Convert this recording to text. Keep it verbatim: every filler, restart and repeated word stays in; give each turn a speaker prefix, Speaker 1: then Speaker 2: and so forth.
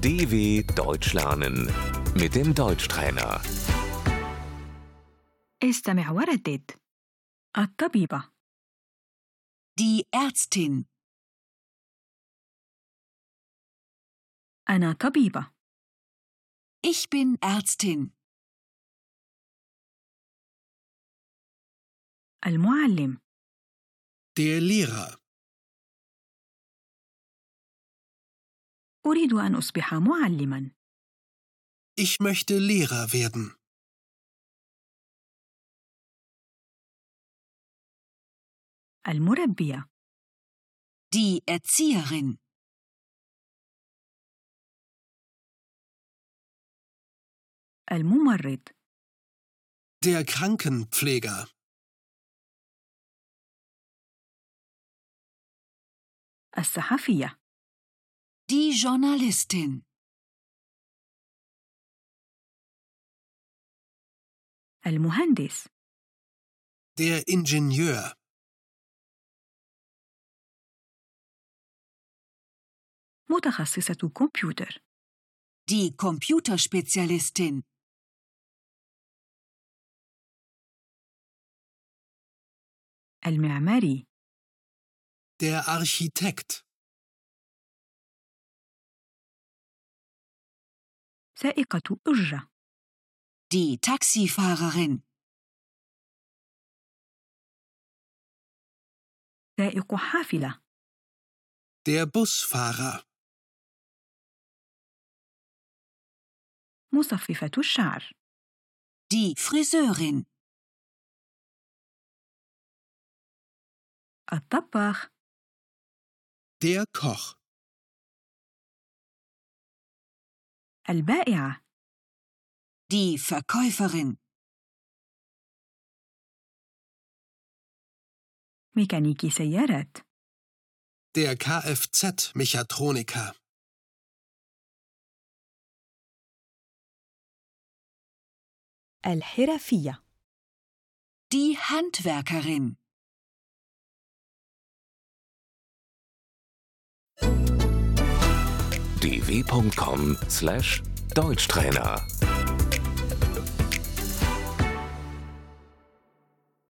Speaker 1: D W Deutsch lernen mit dem Deutschtrainer.
Speaker 2: استمع وردد. الطبيبة.
Speaker 3: Die Ärztin.
Speaker 2: أنا طبيبة.
Speaker 3: Ich bin Ärztin.
Speaker 2: المعلم.
Speaker 4: Der Lehrer.
Speaker 2: أريد أن أصبح معلماً.
Speaker 4: Ich möchte Lehrer werden.
Speaker 2: المربية.
Speaker 3: Die Erzieherin.
Speaker 2: الممرض.
Speaker 4: Der Krankenpfleger.
Speaker 2: الصحفية.
Speaker 3: Die Journalistin.
Speaker 2: المهندس.
Speaker 4: Der Ingenieur.
Speaker 2: متخصصة كمبيوتر.
Speaker 3: Die Computerspezialistin.
Speaker 2: المعماري.
Speaker 4: Der Architekt.
Speaker 2: سائقة أجرة.
Speaker 3: Die Taxifahrerin.
Speaker 2: سائق حافلة.
Speaker 4: Der Busfahrer.
Speaker 2: مصففة الشعر.
Speaker 3: Die Friseurin.
Speaker 2: الطباخ.
Speaker 4: Der Koch.
Speaker 2: البائعة.
Speaker 3: Die Verkäuferin.
Speaker 2: ميكانيكي سيارات.
Speaker 4: Der Kfz-Mechatroniker.
Speaker 2: الحرفية.
Speaker 3: Die Handwerkerin.
Speaker 1: d w punkt com slash Deutschtrainer